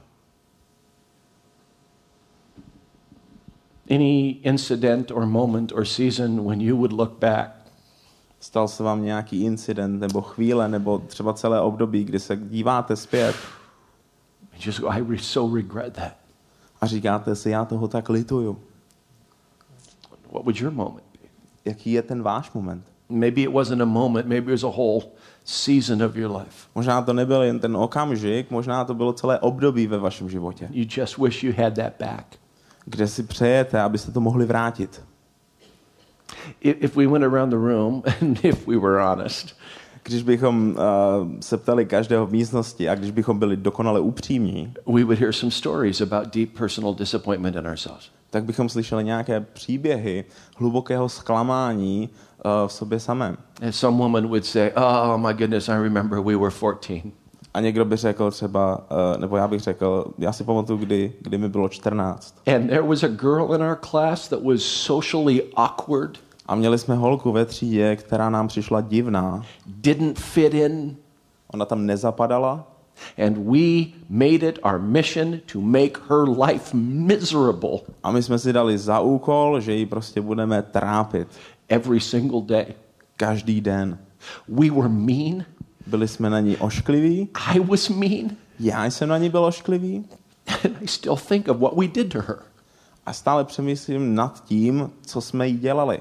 [SPEAKER 2] Any incident or moment or season when you would look back
[SPEAKER 3] Stal se vám nějaký incident nebo chvíle nebo třeba celé období, kdy se díváte zpět
[SPEAKER 2] and just go, I re- so regret that.
[SPEAKER 3] a říkáte si, já toho tak lituju.
[SPEAKER 2] What would your moment be?
[SPEAKER 3] Jaký je ten váš moment?
[SPEAKER 2] Maybe it wasn't a moment, maybe it was a whole season of your life.
[SPEAKER 3] Možná to nebyl jen ten okamžik, možná to bylo celé období ve vašem životě,
[SPEAKER 2] You just wish you had that back.
[SPEAKER 3] kde si přejete, abyste to mohli vrátit.
[SPEAKER 2] If we went around the room and if we were honest,
[SPEAKER 3] Když bychom uh, se ptali každého v místnosti a když bychom byli dokonale upřímní,
[SPEAKER 2] we would hear some stories about deep personal disappointment in ourselves.
[SPEAKER 3] tak bychom slyšeli nějaké příběhy hlubokého zklamání uh, v sobě samém.
[SPEAKER 2] And some woman would say, oh my goodness, I remember we were fourteen.
[SPEAKER 3] A někdo by řekl třeba, uh, nebo já bych řekl, já si pamatuju, kdy, kdy mi bylo čtrnáct.
[SPEAKER 2] And there was a girl in our class that was socially awkward,
[SPEAKER 3] A měli jsme holku ve třídě, která nám přišla divná.
[SPEAKER 2] didn't fit in,
[SPEAKER 3] Ona tam nezapadala.
[SPEAKER 2] and we made it our mission to make her life miserable
[SPEAKER 3] A my jsme si dali za úkol, že ji prostě budeme trápit.
[SPEAKER 2] every single day.
[SPEAKER 3] Každý den.
[SPEAKER 2] We were mean.
[SPEAKER 3] Byli jsme na ní oškliví.
[SPEAKER 2] I was mean.
[SPEAKER 3] Já jsem na ní byl ošklivý.
[SPEAKER 2] And I still think of what we did to her.
[SPEAKER 3] A stále přemýšlím nad tím, co jsme jí dělali.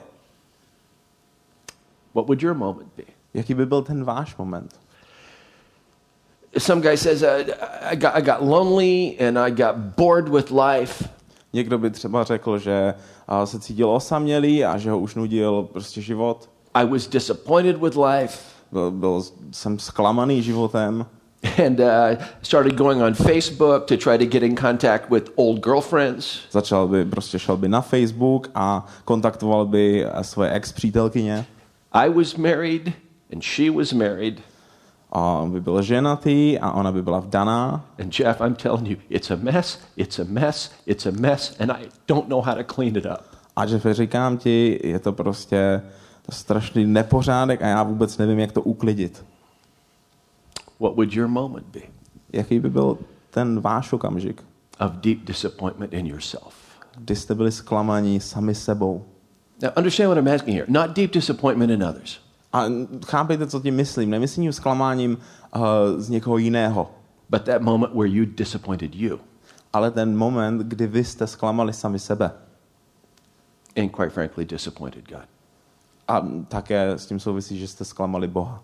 [SPEAKER 2] What would your moment be?
[SPEAKER 3] Jaký by byl ten váš moment?
[SPEAKER 2] Some guy says, uh, I, got, I got lonely and I got bored with life.
[SPEAKER 3] Někdo by třeba řekl, že a, se cítil osamělý a že ho už nudil prostě život.
[SPEAKER 2] I was disappointed with life.
[SPEAKER 3] Byl, byl jsem zklamaný životem.
[SPEAKER 2] And uh, started going on Facebook to try to get in contact with old girlfriends.
[SPEAKER 3] Začal by, prostě šel by na Facebook a kontaktoval by svoje ex-přítelkyně.
[SPEAKER 2] I was married and she was married.
[SPEAKER 3] A on by byl ženatý a ona by byla vdaná.
[SPEAKER 2] And Jeff, I'm telling you, it's a mess, it's a mess, it's a mess, and I don't know how to clean it up.
[SPEAKER 3] A Jeff, říkám ti, je to prostě strašný nepořádek a já vůbec nevím, jak to uklidit.
[SPEAKER 2] What would your moment be?
[SPEAKER 3] Jaký by byl ten váš okamžik,
[SPEAKER 2] Of deep disappointment in yourself.
[SPEAKER 3] kdy jste byli zklamaní sami sebou?
[SPEAKER 2] Now, understand what I'm asking here. Not deep disappointment in others.
[SPEAKER 3] A chápejte, co tím myslím. Nemyslím zklamáním uh, z někoho jiného,
[SPEAKER 2] But that moment where you disappointed you.
[SPEAKER 3] ale ten moment, kdy vy jste zklamali sami sebe.
[SPEAKER 2] And quite frankly, disappointed God.
[SPEAKER 3] A také s tím souvisí, že jste zklamali Boha.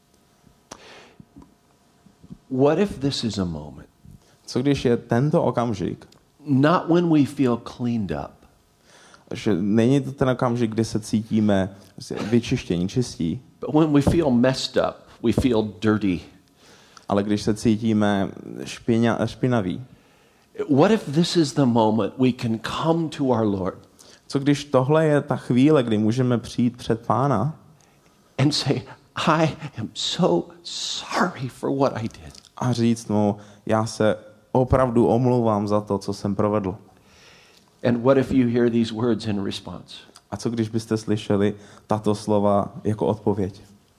[SPEAKER 2] What if this is a moment?
[SPEAKER 3] Co když je tento okamžik,
[SPEAKER 2] Not when we feel cleaned up,
[SPEAKER 3] že není to ten okamžik, kdy se cítíme vyčištění, čistí,
[SPEAKER 2] but when we feel messed up, we feel dirty.
[SPEAKER 3] ale když se cítíme špina, špinaví.
[SPEAKER 2] What if this is the moment we can come to our Lord
[SPEAKER 3] Co když tohle je ta chvíle, kdy můžeme přijít před Pána
[SPEAKER 2] and say, I am so sorry for what I did.
[SPEAKER 3] a říct mu, já se opravdu omlouvám za to, co jsem provedl.
[SPEAKER 2] And what if you hear these words in response?
[SPEAKER 3] A co když byste slyšeli tato slova jako odpověď?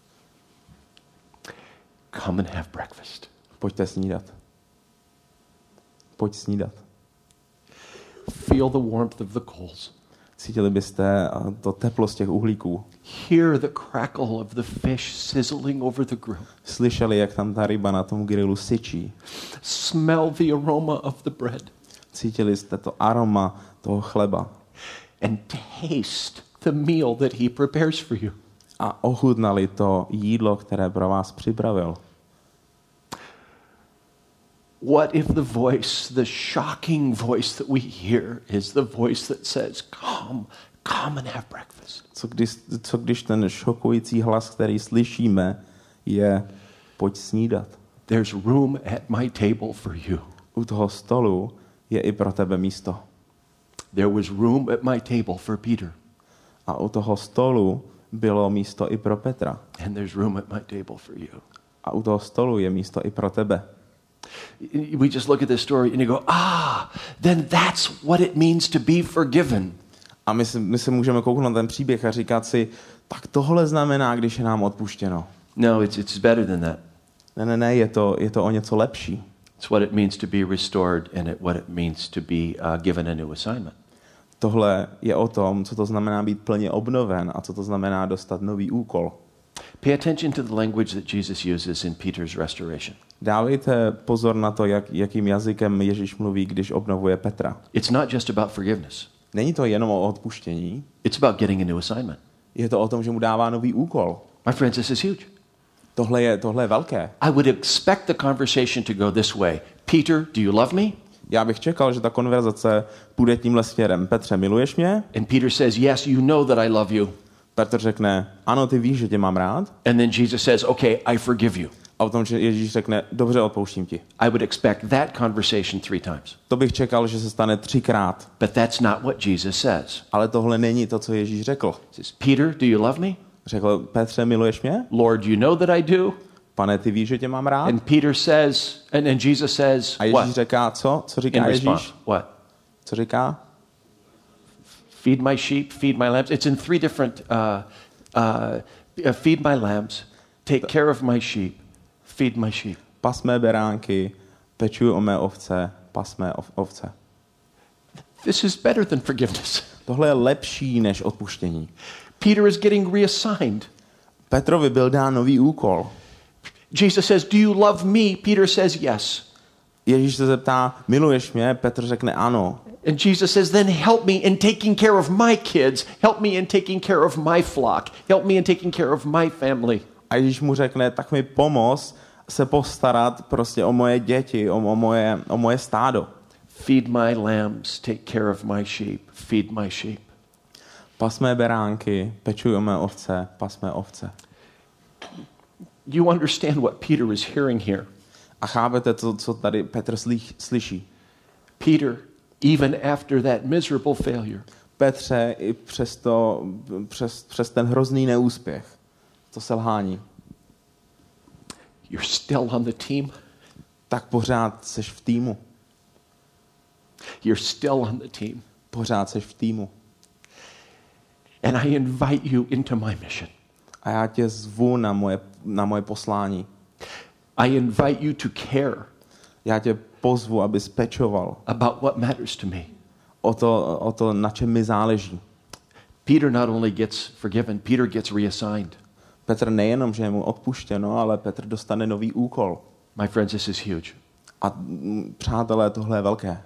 [SPEAKER 2] Come and have breakfast.
[SPEAKER 3] Pojďte snídat. Pojď snídat.
[SPEAKER 2] Feel the warmth of the coals.
[SPEAKER 3] Cítili byste to teplo z těch uhlíků.
[SPEAKER 2] Hear the crackle of the fish sizzling over the grill.
[SPEAKER 3] Slyšeli, jak tam ta ryba na tom grilu syčí.
[SPEAKER 2] Smell the aroma of the bread.
[SPEAKER 3] Cítili jste to aroma toho chleba.
[SPEAKER 2] And taste the meal that he prepares for you.
[SPEAKER 3] A ochutnali to jídlo, které pro vás připravil.
[SPEAKER 2] What if the voice, the shocking voice that we hear is the voice that says, come, come and have breakfast.
[SPEAKER 3] Co když, co když ten šokující hlas, který slyšíme, je pojď snídat.
[SPEAKER 2] There's room at my table for you.
[SPEAKER 3] U toho stolu je i pro tebe místo.
[SPEAKER 2] There was room at my table for Peter.
[SPEAKER 3] A u toho stolu bylo místo i pro Petra.
[SPEAKER 2] And there's room at my table for you.
[SPEAKER 3] A u toho stolu je místo i pro tebe.
[SPEAKER 2] We just look at this story and you go, ah, then that's what it means to be forgiven.
[SPEAKER 3] A my se, my se můžeme kouknout na ten příběh a říkat si, tak tohle znamená, když je nám odpuštěno.
[SPEAKER 2] No, it's, it's better than that.
[SPEAKER 3] Ne, ne, ne, je to, je to o něco lepší.
[SPEAKER 2] It's what it means to be restored and it, what it means to be uh, given a new assignment.
[SPEAKER 3] Tohle je o tom, co to znamená být plně obnoven a co to znamená dostat nový úkol.
[SPEAKER 2] Pay attention to the language that Jesus uses in Peter's restoration.
[SPEAKER 3] Dávejte pozor na to, jak, jakým jazykem Ježíš mluví, když obnovuje Petra.
[SPEAKER 2] It's not just about forgiveness.
[SPEAKER 3] Není to jenom o odpuštění,
[SPEAKER 2] It's about getting a new assignment.
[SPEAKER 3] je to o tom, že mu dává nový úkol.
[SPEAKER 2] My friends, this is huge.
[SPEAKER 3] Tohle je, tohle je velké.
[SPEAKER 2] I would expect the conversation to go this way. Peter, do you love me?
[SPEAKER 3] Já bych čekal, že ta konverzace půjde tímhle směrem. Petře, miluješ mě?
[SPEAKER 2] And Peter says, yes, you know that I love you.
[SPEAKER 3] Petr řekne, ano, ty víš, že tě mám rád.
[SPEAKER 2] And then Jesus says, okay, I forgive you.
[SPEAKER 3] A potom Ježíš řekne, dobře, odpouštím ti.
[SPEAKER 2] I would expect that conversation three times.
[SPEAKER 3] To bych čekal, že se stane třikrát.
[SPEAKER 2] But that's not what Jesus says.
[SPEAKER 3] Ale tohle není to, co Ježíš řekl.
[SPEAKER 2] He says, Peter, do you love me?
[SPEAKER 3] Řekl, Petře, miluješ mě?
[SPEAKER 2] Lord, you know that I do.
[SPEAKER 3] Pane, ty víš, že tě mám rád?
[SPEAKER 2] And Peter says, and then Jesus says,
[SPEAKER 3] A Ježíš
[SPEAKER 2] what?
[SPEAKER 3] říká, co? Co
[SPEAKER 2] In
[SPEAKER 3] říká
[SPEAKER 2] response,
[SPEAKER 3] Ježíš?
[SPEAKER 2] what?
[SPEAKER 3] Co říká?
[SPEAKER 2] Feed my sheep, feed my lambs. It's in three different, uh, uh, feed my lambs, take care of my sheep, feed my sheep.
[SPEAKER 3] Pas mé beránky, pečuj o mé ovce, pas mé ov- ovce.
[SPEAKER 2] This is better than forgiveness.
[SPEAKER 3] Tohle je lepší než odpuštění.
[SPEAKER 2] Peter is getting reassigned.
[SPEAKER 3] Petrovi byl dán nový úkol.
[SPEAKER 2] Jesus says, do you love me? Peter says, yes.
[SPEAKER 3] Ježíš se zeptá, miluješ mě? Petr řekne ano.
[SPEAKER 2] And Jesus says, then help me in taking care of my kids. Help me in taking care of my flock. Help me in taking care of my family.
[SPEAKER 3] A Ježíš mu řekne, tak mi pomoz se postarat prostě o moje děti, o, o, moje, o moje stádo.
[SPEAKER 2] Feed my lambs, take care of my sheep. Feed my sheep.
[SPEAKER 3] Pas mé beránky, pečuj o mé ovce, pas mé ovce.
[SPEAKER 2] You understand what Peter is hearing here.
[SPEAKER 3] A chápete to, co tady Petr slyší?
[SPEAKER 2] Peter, even after that miserable failure,
[SPEAKER 3] Petře, i přes, to, přes, přes ten hrozný neúspěch, to selhání,
[SPEAKER 2] you're still on the team.
[SPEAKER 3] tak pořád seš v týmu.
[SPEAKER 2] You're still on the team.
[SPEAKER 3] Pořád seš v týmu.
[SPEAKER 2] And I invite you into my mission.
[SPEAKER 3] A já tě zvu na moje, na moje poslání.
[SPEAKER 2] I invite you to care
[SPEAKER 3] Já tě pozvu, abys pečoval
[SPEAKER 2] about what matters to me.
[SPEAKER 3] o to, o to, na čem mi záleží.
[SPEAKER 2] Peter not only gets forgiven, Peter gets reassigned.
[SPEAKER 3] Petr nejenom, že je mu odpuštěno, ale Petr dostane nový úkol.
[SPEAKER 2] My friends, this is huge.
[SPEAKER 3] A mm, přátelé, tohle je velké.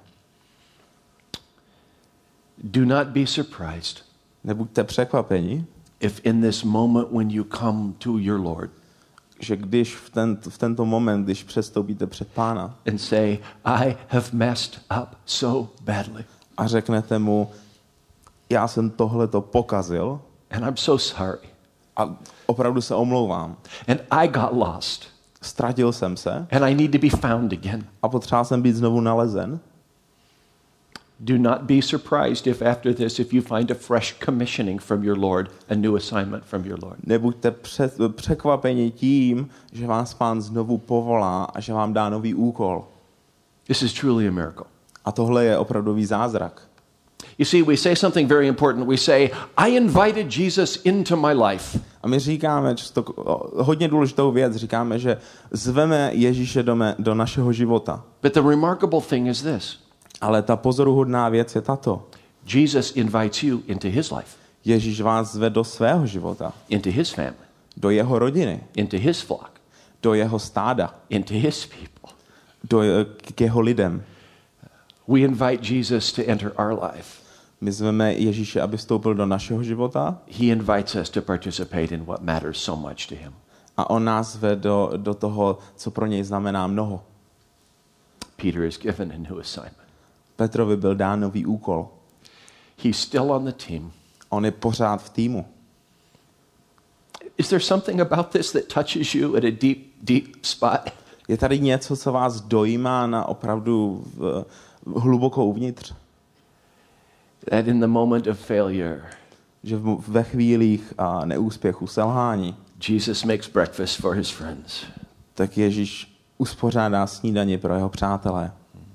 [SPEAKER 2] Do not be surprised
[SPEAKER 3] Nebuďte překvapeni,
[SPEAKER 2] if in this moment when you come to your Lord
[SPEAKER 3] že když v, ten, v tento moment, když přestoupíte před Pána
[SPEAKER 2] and say, I have messed up so badly
[SPEAKER 3] a řeknete mu, já jsem tohleto pokazil
[SPEAKER 2] and I'm so sorry
[SPEAKER 3] a opravdu se omlouvám.
[SPEAKER 2] and I got lost
[SPEAKER 3] Ztratil jsem se
[SPEAKER 2] and I need to be found again.
[SPEAKER 3] a potřeboval jsem být znovu nalezen.
[SPEAKER 2] Do not be surprised if after this, if you find a fresh commissioning from your Lord, a new assignment from your Lord.
[SPEAKER 3] Nebuďte před, překvapeni tím, že vás Pán znovu povolá a že vám dá nový úkol.
[SPEAKER 2] This is truly a miracle.
[SPEAKER 3] A tohle je opravdový zázrak.
[SPEAKER 2] You see, we say something very important. We say, I invited Jesus into my life.
[SPEAKER 3] A my říkáme často hodně důležitou věc. Říkáme, že zveme Ježíše do, mé, do našeho života.
[SPEAKER 2] But the remarkable thing is this.
[SPEAKER 3] Ale ta pozoruhodná věc je tato.
[SPEAKER 2] Jesus invites you into his life.
[SPEAKER 3] Ježíš vás zve do svého života.
[SPEAKER 2] Into his family.
[SPEAKER 3] Do jeho rodiny.
[SPEAKER 2] Into his flock.
[SPEAKER 3] Do jeho stáda.
[SPEAKER 2] Into his people.
[SPEAKER 3] Do, k jeho lidem.
[SPEAKER 2] We invite Jesus to enter our life.
[SPEAKER 3] My zveme Ježíše, aby vstoupil do našeho života.
[SPEAKER 2] He invites us to participate in what matters so much to him.
[SPEAKER 3] A on nás zve do, do toho, co pro něj znamená mnoho.
[SPEAKER 2] Peter is given a new assignment.
[SPEAKER 3] Petrovi byl dán nový úkol.
[SPEAKER 2] He's still on the team.
[SPEAKER 3] On je pořád v týmu.
[SPEAKER 2] Is there something about this that touches you at a deep, deep spot?
[SPEAKER 3] Je tady něco, co vás dojímá na opravdu v, hluboko uvnitř?
[SPEAKER 2] That in the moment of failure,
[SPEAKER 3] že v, ve chvílích a neúspěchu, selhání,
[SPEAKER 2] Jesus makes breakfast for his friends.
[SPEAKER 3] tak Ježíš uspořádá snídani pro jeho přátelé.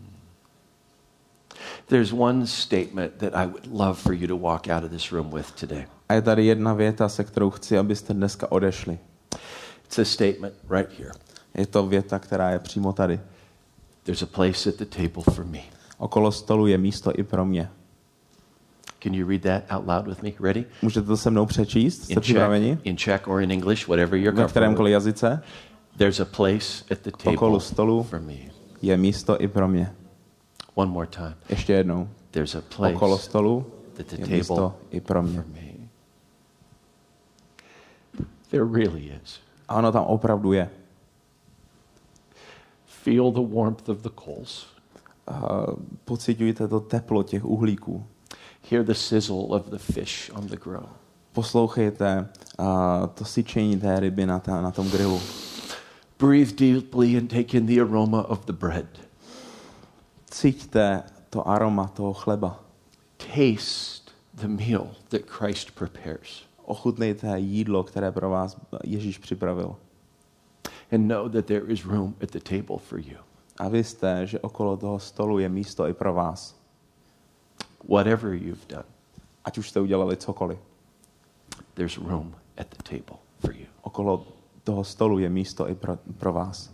[SPEAKER 2] There's one statement that I would love for you to walk out of this room with today.
[SPEAKER 3] A je tady jedna věta, se kterou chci, abyste dneska odešli.
[SPEAKER 2] It's a statement right here.
[SPEAKER 3] Je to věta, která je přímo tady.
[SPEAKER 2] There's a place at the table for me.
[SPEAKER 3] Okolo stolu je místo i pro mě.
[SPEAKER 2] Can you read that out loud with me? Ready?
[SPEAKER 3] Můžete to se mnou přečíst? Jste
[SPEAKER 2] In
[SPEAKER 3] připraveni?
[SPEAKER 2] Czech, in Czech or in English, whatever you're
[SPEAKER 3] Ve
[SPEAKER 2] comfortable
[SPEAKER 3] kterémkoliv
[SPEAKER 2] with.
[SPEAKER 3] jazyce
[SPEAKER 2] There's a place at the
[SPEAKER 3] okolo
[SPEAKER 2] table
[SPEAKER 3] stolu
[SPEAKER 2] for me.
[SPEAKER 3] je místo i pro mě.
[SPEAKER 2] One more time.
[SPEAKER 3] Ještě jednou.
[SPEAKER 2] There's a place
[SPEAKER 3] Okolo stolu
[SPEAKER 2] at the
[SPEAKER 3] je
[SPEAKER 2] table
[SPEAKER 3] místo i pro mě.
[SPEAKER 2] for me. There really is.
[SPEAKER 3] A ono tam opravdu je.
[SPEAKER 2] Feel the warmth of the coals.
[SPEAKER 3] Uh, pociťujte to teplo těch uhlíků.
[SPEAKER 2] Hear the sizzle of the fish on the grill.
[SPEAKER 3] Poslouchejte uh, to syčení té ryby na, ta, na tom grilu.
[SPEAKER 2] Breathe deeply and take in the aroma of the bread.
[SPEAKER 3] Cíťte to aroma toho chleba.
[SPEAKER 2] Taste the meal that Christ prepares.
[SPEAKER 3] Ochutnejte jídlo, které pro vás Ježíš připravil.
[SPEAKER 2] And know that there is room at the table for you.
[SPEAKER 3] A vy jste, že okolo toho stolu je místo i pro vás.
[SPEAKER 2] Whatever you've done,
[SPEAKER 3] Ať už jste udělali cokoliv.
[SPEAKER 2] there's room at the table for you.
[SPEAKER 3] Okolo toho stolu je místo i pro, pro vás.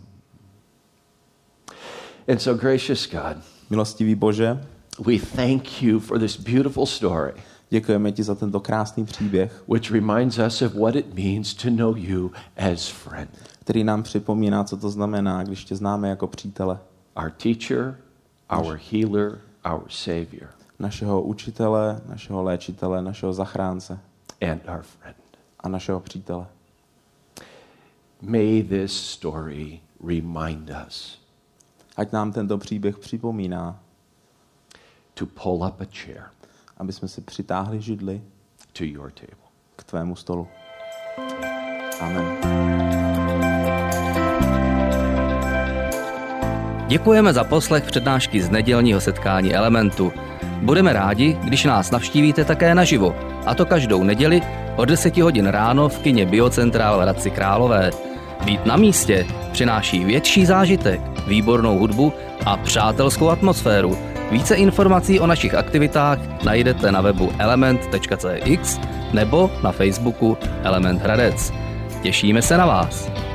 [SPEAKER 2] And so, gracious God,
[SPEAKER 3] Milostivý Bože,
[SPEAKER 2] we thank you for this beautiful story,
[SPEAKER 3] děkujeme ti za tento krásný příběh,
[SPEAKER 2] which reminds us of what it means to know you as friend.
[SPEAKER 3] který nám připomíná, co to znamená, když tě známe jako přítele.
[SPEAKER 2] Our teacher, our healer, our savior,
[SPEAKER 3] Našeho učitele, našeho léčitele, našeho zachránce
[SPEAKER 2] and our friend.
[SPEAKER 3] a našeho přítele.
[SPEAKER 2] May this story remind us
[SPEAKER 3] Ať nám tento příběh připomíná,
[SPEAKER 2] to pull up a chair
[SPEAKER 3] aby jsme si přitáhli židli
[SPEAKER 2] to your table.
[SPEAKER 3] k tvému stolu. Amen.
[SPEAKER 1] Děkujeme za poslech přednášky z nedělního setkání Elementu. Budeme rádi, když nás navštívíte také naživo, a to každou neděli od deseti hodin ráno v kině Biocentrál v Hradci Králové. Být na místě přináší větší zážitek, výbornou hudbu a přátelskou atmosféru. Více informací o našich aktivitách najdete na webu element tečka cé x nebo na Facebooku Element Hradec. Těšíme se na vás.